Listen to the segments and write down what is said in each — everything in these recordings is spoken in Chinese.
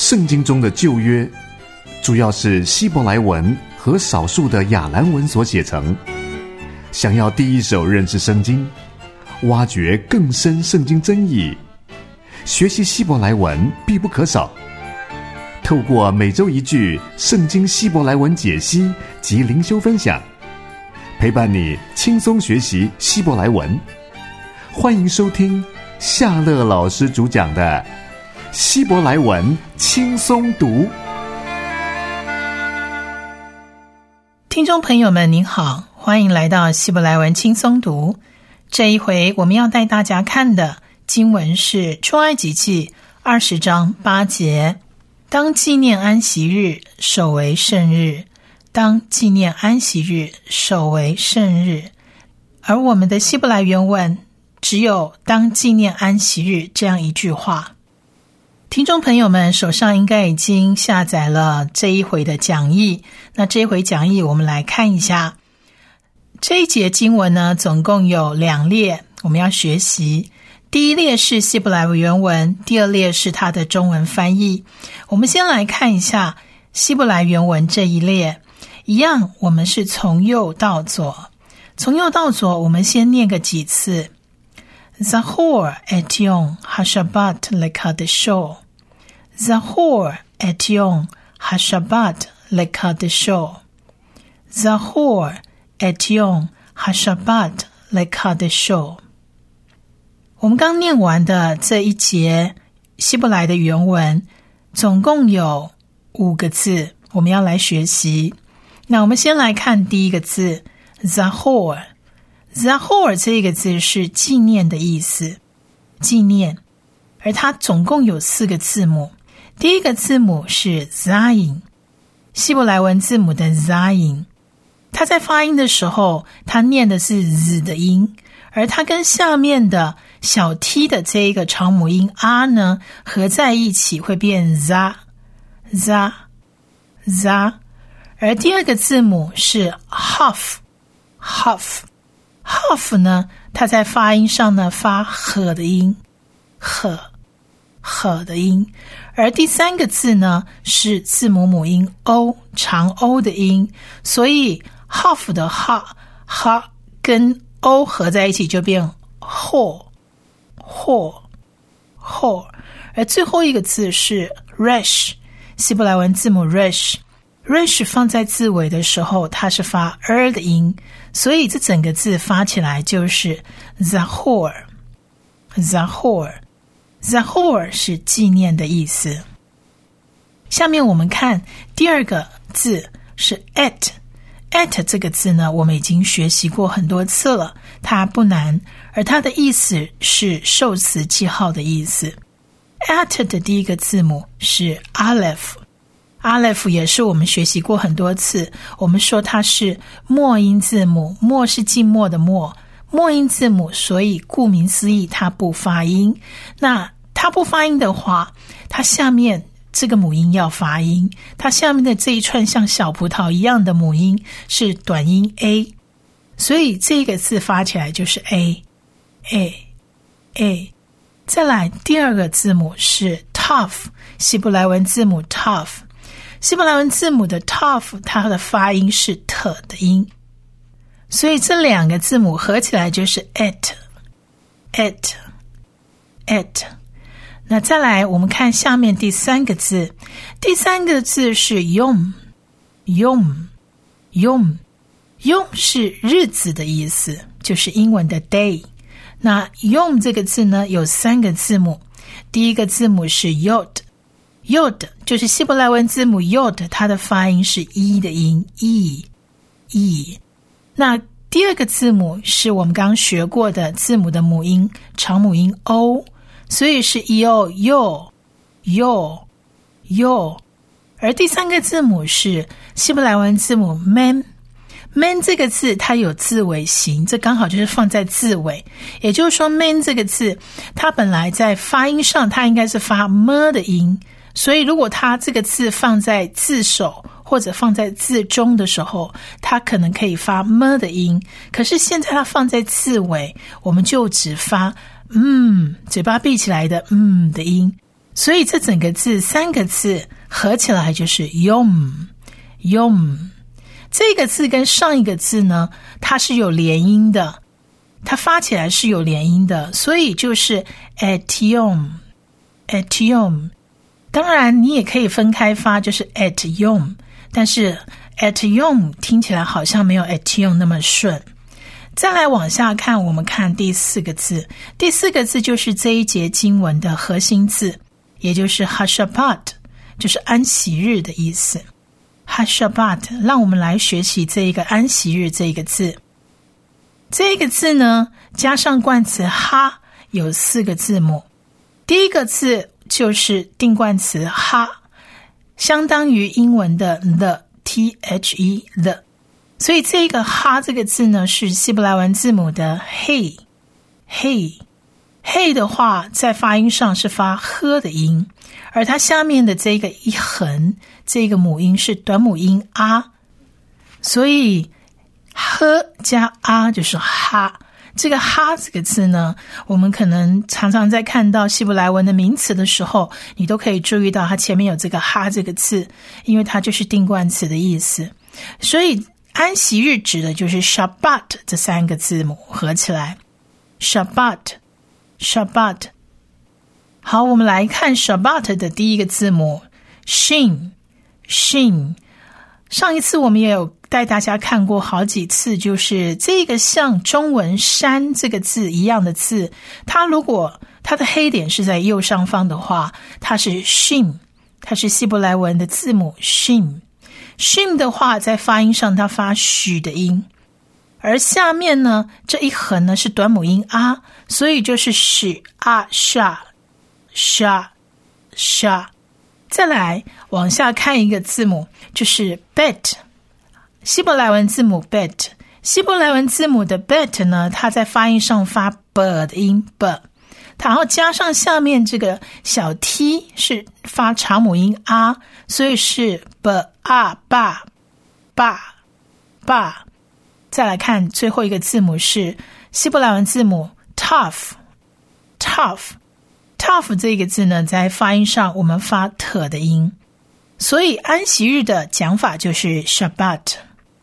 圣经中的旧约主要是希伯来文和少数的亚兰文所写成。想要第一手认识圣经，挖掘更深圣经真意，学习希伯来文必不可少。透过每周一句圣经希伯来文解析及灵修分享，陪伴你轻松学习希伯来文。欢迎收听夏乐老师主讲的希伯来文轻松读。 听众朋友们您好，欢迎来到希伯来文轻松读。这一回我们要带大家看的经文是出埃及记20章8节，当纪念安息日，守为圣日。当纪念安息日，守为圣日。而我们的希伯来原文只有当纪念安息日这样一句话。听众朋友们手上应该已经下载了这一回的讲义，那这一回讲义我们来看一下。这一节经文呢，总共有2列我们要学习。第一列是希伯来原文，第二列是它的中文翻译。我们先来看一下希伯来原文这一列，一样我们是从右到左。从右到左我们先念个几次。Zahor et yom hashabat lekadesho. Zahor et yom hashabat lekadesho. Zahor et yom hashabat lekadesho. 我们刚念完的这一节希伯来的原文总共有5个字，我们要来学习。那我们先来看第一个字 Zahor。Zahor 这个字是纪念的意思，纪念，而它总共有4个字母。第一个字母是 Zayin， 希伯来文字母的 Zayin， 它在发音的时候它念的是 Z 的音，而它跟下面的小 t 的这一个长母音 r 呢合在一起会变 za。而第二个字母是 Haf。Haf 呢，它在发音上呢发呵的音，呵的音。而第3个字呢是字母母音 o， 长 o 的音，所以 Haf 的哈跟 o 合在一起就变 ho。而最后一个字是 resh， 希伯来文字母 resh。resh 放在字尾的时候它是发 的音，所以这整个字发起来就是 Zahor。 Zahor 是纪念的意思。下面我们看第2个字是 et 这个字呢我们已经学习过很多次了，它不难，而它的意思是受词记号的意思。 et 的第一个字母是 Aleph，Aleph 也是我们学习过很多次，我们说它是末音字母，末是静默的默，末音字母，所以顾名思义它不发音。那它不发音的话，它下面这个母音要发音，它下面的这一串像小葡萄一样的母音是短音 a， 所以这个字发起来就是 a。 再来第2个字母是 Tav， 希伯来文字母 Tav，希伯来文字母的 Tav 它的发音是 t 的音，所以这2个字母合起来就是 et。 那再来我们看下面第3个字，第3个字是 Yom 是日子的意思，就是英文的 day。 那 Yom 这个字呢有3个字母，第一个字母是 Yod， 就是希伯来文字母 Yod， 它的发音是 e 的音 e。 那第2个字母是我们刚学过的字母的母音长母音 o， 所以是 yo。 而第3个字母是希伯来文字母 man， 这个字它有字尾形，这刚好就是放在字尾，也就是说 man 这个字它本来在发音上它应该是发 m 的音，所以如果它这个字放在字首或者放在字中的时候，它可能可以发 m 的音，可是现在它放在字尾，我们就只发嘴巴闭起来的的音， 所以这整个字3个字合起来就是 yom。 这个字跟上一个字呢，它是有连音的，它发起来是有连音的，所以就是 etiom。 当然你也可以分开发，就是 etiom， 但是 etiom 听起来好像没有 etiom 那么顺。再来往下看，我们看第4个字。第4个字就是这一节经文的核心字，也就是 Hashabbat， 就是安息日的意思。Hashabbat， 让我们来学习这一个安息日这一个字。这个字呢，加上冠词哈，有4个字母。第一个字就是定冠词哈，相当于英文的 the the， 所以这个哈这个字呢，是希伯来文字母的 hey。 的话在发音上是发呵的音，而它下面的这个一横，这个母音是短母音啊，所以呵加啊就是哈。这个哈这个字呢，我们可能常常在看到希伯来文的名词的时候，你都可以注意到它前面有这个哈这个字，因为它就是定冠词的意思。所以安息日指的就是 Shabbat 这3个字母合起来 Shabbat。 好，我们来看 Shabbat 的第一个字母 Shin。 上一次我们也有带大家看过好几次，就是这个像中文山这个字一样的字，它如果它的黑点是在右上方的话，它是 Shin， 它是希伯来文的字母 Shin。 Shin 的话在发音上它发许的音，而下面呢这一横呢是短母音啊，所以就是许啊沙。再来往下看一个字母，就是 bet， 希伯来文字母 bet。 希伯来文字母的 bet 呢，它在发音上发 b 的音 b， 然后加上下面这个小 t 是发长母音啊，所以是 b a ba。再来看最后一个字母是希伯来文字母 tough。 这个字呢，在发音上我们发 t 的音，所以安息日的讲法就是 Shabbat。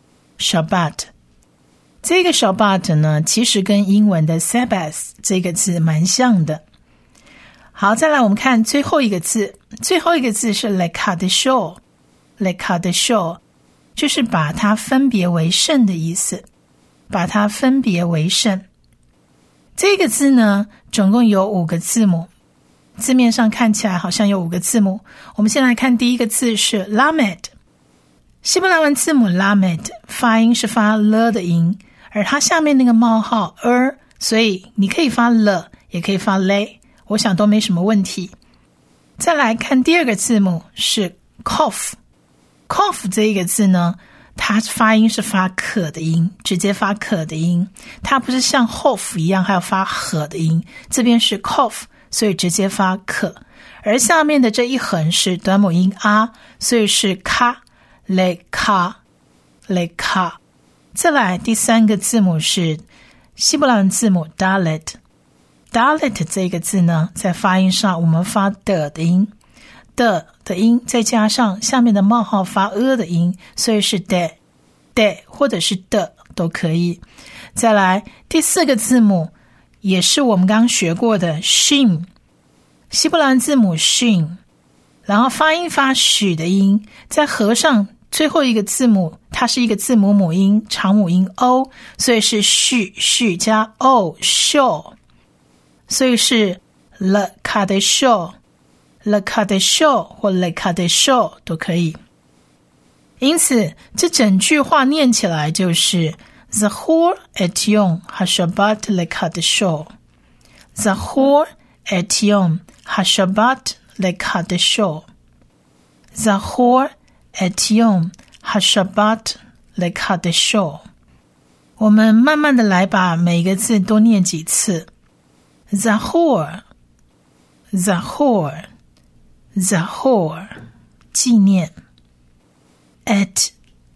这个 Shabbat 呢，其实跟英文的 Sabbath 这个字蛮像的。好，再来我们看最后一个字，最后一个字是 Lekadesho， 就是把它分别为圣的意思，把它分别为圣。这个字呢，总共有5个字母，字面上看起来好像有5个字母。我们先来看第一个字是 Lamed。 希伯来文字母 Lamed 发音是发了的音，而它下面那个冒号所以你可以发了也可以发嘞，我想都没什么问题。再来看第二个字母是 Kof。 这一个字呢，它发音是发可的音，直接发可的音，它不是像 hof 一样还要发和的音，这边是 kof， 所以直接发可，而下面的这一横是短母音啊，所以是卡 leka。 再来第3个字母是希伯来文字母 dalet。 这个字呢，在发音上我们发的音，的音再加上下面的冒号发的音，所以是的或者是的都可以。再来第4个字母也是我们刚刚学过的 shin， 希伯来文字母 shin， 然后发音发许的音，再合上最后一个字母，它是一个字母母音长母音 o， 所以是许加 o show， 所以是 lekadesho 或 lekadesho 都可以。因此这整句话念起来就是 Zachor et Yom HaShabbat lekadesho， Zachor et Yom HaShabbat lekadesho， Zachor et Yom HaShabbat lekadesho。 我们慢慢的来把每个字多念几次。 Zachor 纪念。 et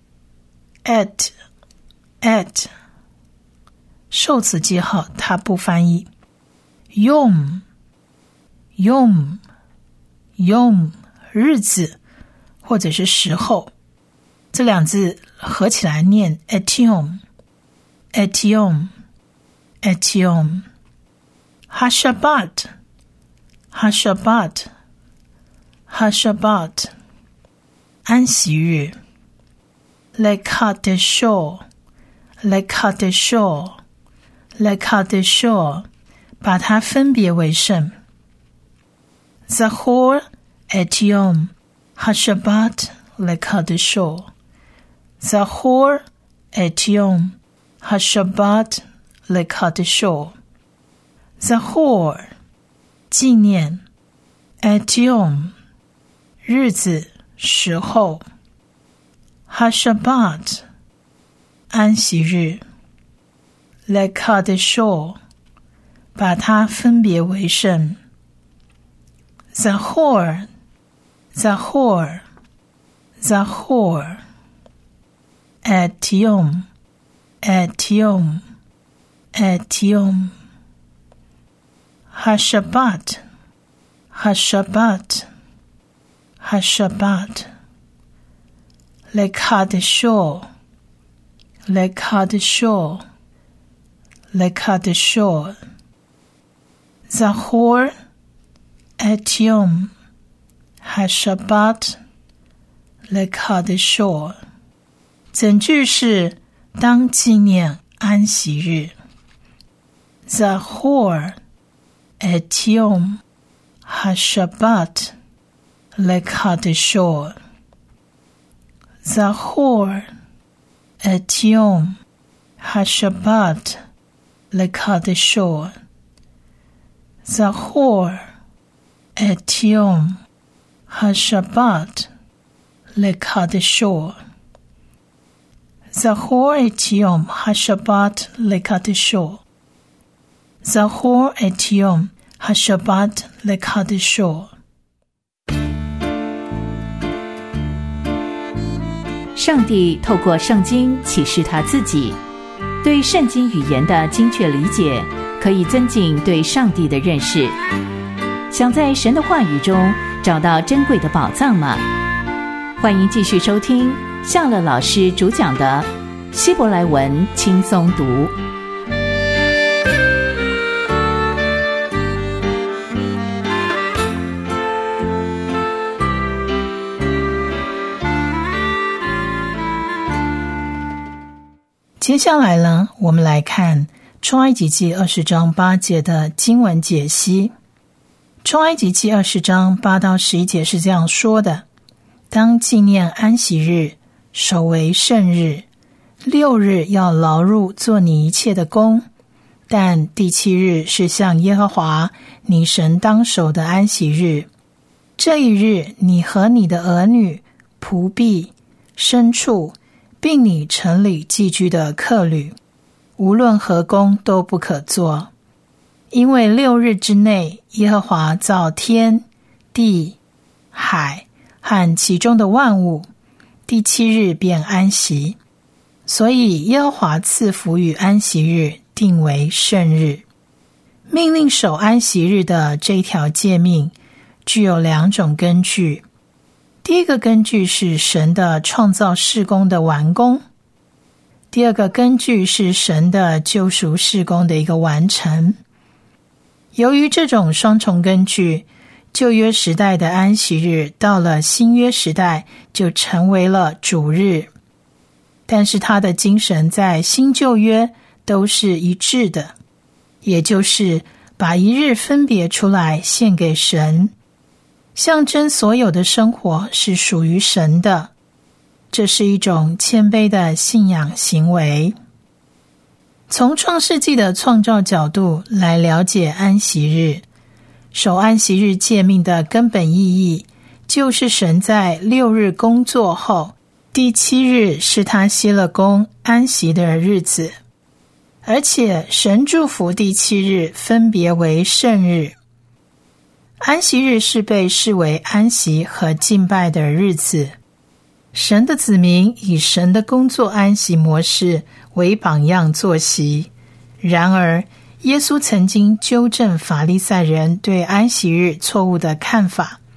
受词记号它不翻译。Yom yom 日子或者是时候，这两字合起来念 etiom etiom etiom hashabat hashabat hashabat 安息日 lekadesho lekadesho lekadesho 把它分别为圣 Zachor et Yom HaShabbat lekadesho Zachor et Yom HaShabbat lekadesho Zachor 纪念 et Yom 日子时候 HaShabbat 安息日 lekadesho 把它分别为圣 Zachor Zachor Zachor et Yom et Yom et Yom HaShabbat HaShabbat HaShabbat lekadesho lekadesho lekadesho Zachor et Yom HaShabbat lekadesho 整句是当纪念安息日 Zachor et Yom HaShabbat lekadesho Zachor et Yom HaShabbat lekadesho Zachor et Yom HaShabbat lekadesho Zachor et Yom HaShabbat lekadesho Zachor et Yom HaShabbat lekadesho 上帝透过圣经启示他自己，对圣经语言的精确理解可以增进对上帝的认识。想在神的话语中找到珍贵的宝藏吗？欢迎继续收听夏乐老师主讲的希伯来文轻松读。 接下来呢，我们来看出埃及记20章8节的经文解析。出埃及记20章8到11节是这样说的：当纪念安息日，守为圣日，6日要劳碌做你一切的工，但第7日是向耶和华你神当守的安息日。这一日，你和你的儿女、仆婢、牲畜，并你城里寄居的客旅，无论何工都不可做，因为6日之内，耶和华造天、地、海和其中的万物，第7日便安息。所以耶和华赐福与安息日，定为圣日。命令守安息日的这一条诫命具有2种根据。第一个根据是神的创造事工的完工，第二个根据是神的救赎事工的一个完成。由于这种双重根据，旧约时代的安息日到了新约时代就成为了主日，但是它的精神在新旧约都是一致的，也就是把一日分别出来献给神，象征所有的生活是属于神的，这是一种谦卑的信仰行为。从创世纪的创造角度来了解安息日，守安息日诫命的根本意义，就是神在6日工作后，第7日是他歇了工安息的日子，而且神祝福第7日分别为圣日。安息日是被视为安息和敬拜的日子，神的子民以神的工作安息模式为榜样作息。然而耶稣曾经纠正法利赛人对安息日错误的看法，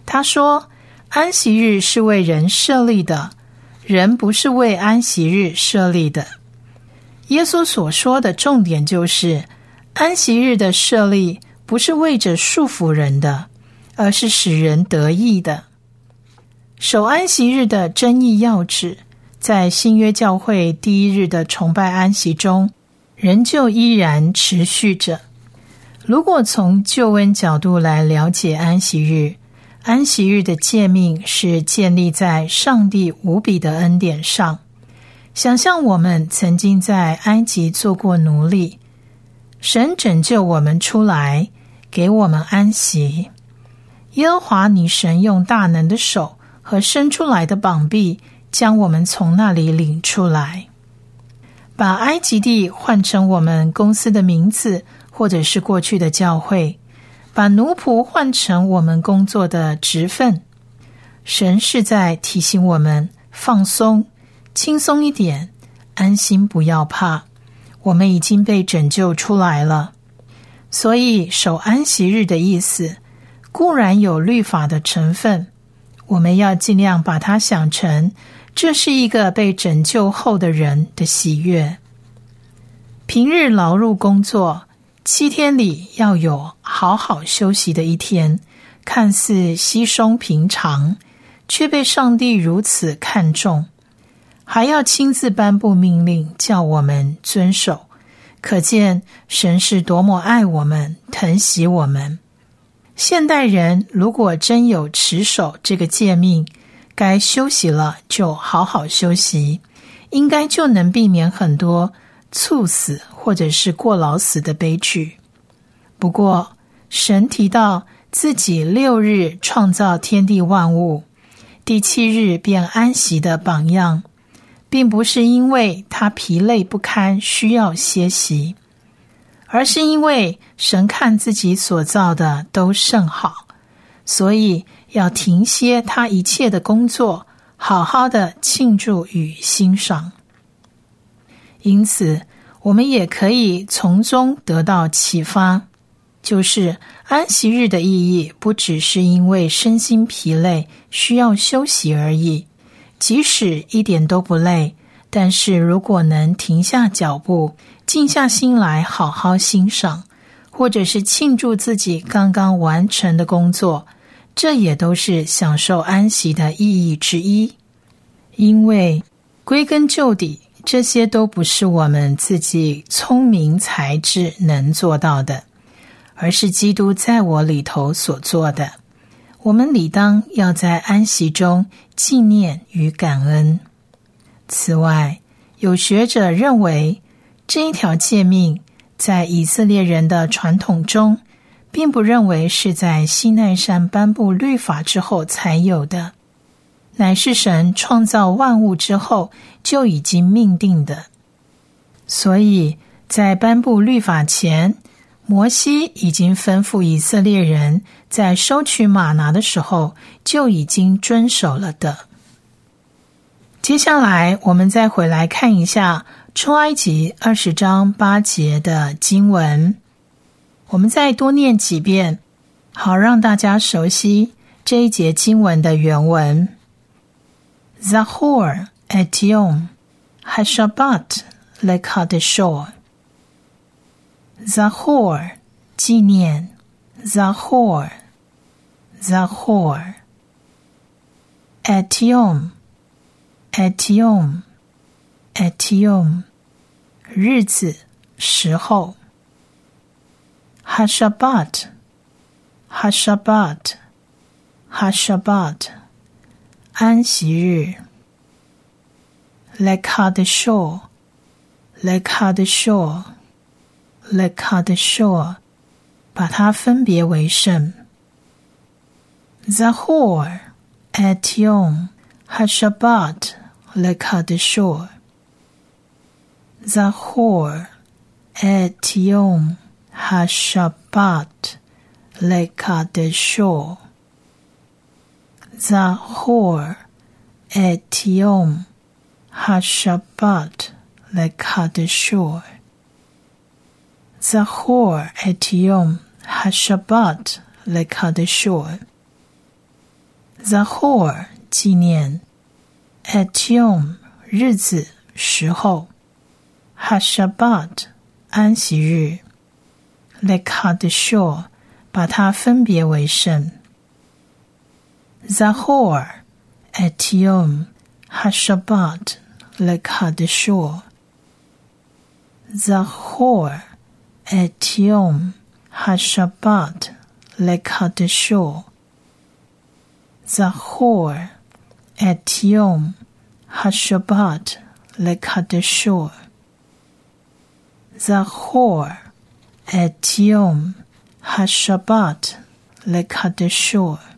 他说，安息日是为人设立的，人不是为安息日设立的。耶稣所说的重点就是，安息日的设立不是为着束缚人的，而是使人得益的。守安息日的真义要旨，在新约教会第一日的崇拜安息中，仍旧依然持续着。如果从救恩角度来了解安息日，安息日的诫命是建立在上帝无比的恩典上。想象我们曾经在埃及做过奴隶，神拯救我们出来，给我们安息。耶和华你神用大能的手和伸出来的膀臂，将我们从那里领出来。把埃及地换成我们公司的名字，或者是过去的教会，把奴仆换成我们工作的职分。神是在提醒我们放松，轻松一点，安心，不要怕，我们已经被拯救出来了。所以守安息日的意思固然有律法的成分，我们要尽量把它想成这是一个被拯救后的人的喜悦。平日劳碌工作，7天里要有好好休息的一天，看似稀松平常，却被上帝如此看重，还要亲自颁布命令叫我们遵守，可见神是多么爱我们，疼惜我们。现代人如果真有持守这个诫命，该休息了就好好休息，应该就能避免很多猝死或者是过劳死的悲剧。不过神提到自己6日创造天地万物，第7日便安息的榜样，并不是因为他疲累不堪需要歇息，而是因为神看自己所造的都甚好，所以要停歇他一切的工作，好好的庆祝与欣赏。因此我们也可以从中得到启发，就是安息日的意义不只是因为身心疲累需要休息而已，即使一点都不累，但是如果能停下脚步，静下心来好好欣赏，或者是庆祝自己刚刚完成的工作，这也都是享受安息的意义之一。因为归根究底，这些都不是我们自己聪明才智能做到的，而是基督在我里头所做的。我们理当要在安息中纪念与感恩。此外，有学者认为，这一条诫命在以色列人的传统中，并不认为是在西奈山颁布律法之后才有的，乃是神创造万物之后就已经命定的。所以在颁布律法前，摩西已经吩咐以色列人在收取玛拿的时候就已经遵守了的。接下来我们再回来看一下出埃及20章8节的经文，我们再多念几遍，好让大家熟悉这一节经文的原文。Zahor et Yom HaShabbat lekadeshor。 Zahor 纪念， Zahor et Yom et Yom 日子时候。 HaShabbat安息日。 Lekadeshor 把它分别为圣。 Zahor et Yom HaShabbat lekadeshor。 Zahor et Yom HaShabbat lekadeshor。 Zahor et Yom HaShabbat lekadeshor。 Zahor et Yom HaShabbat lekadeshor。 Zahor 纪念 Et Yom 日子时候 HaShabbat 安息日 Lekadshor 把它分别为圣 Zahor Et Yom HaShabbat Lekadshor Zahor Et Yom HaShabbat Lekadshor Zahor Et Yom HaShabbat Lekadshor Zahor Et Yom HaShabbat Lekadshor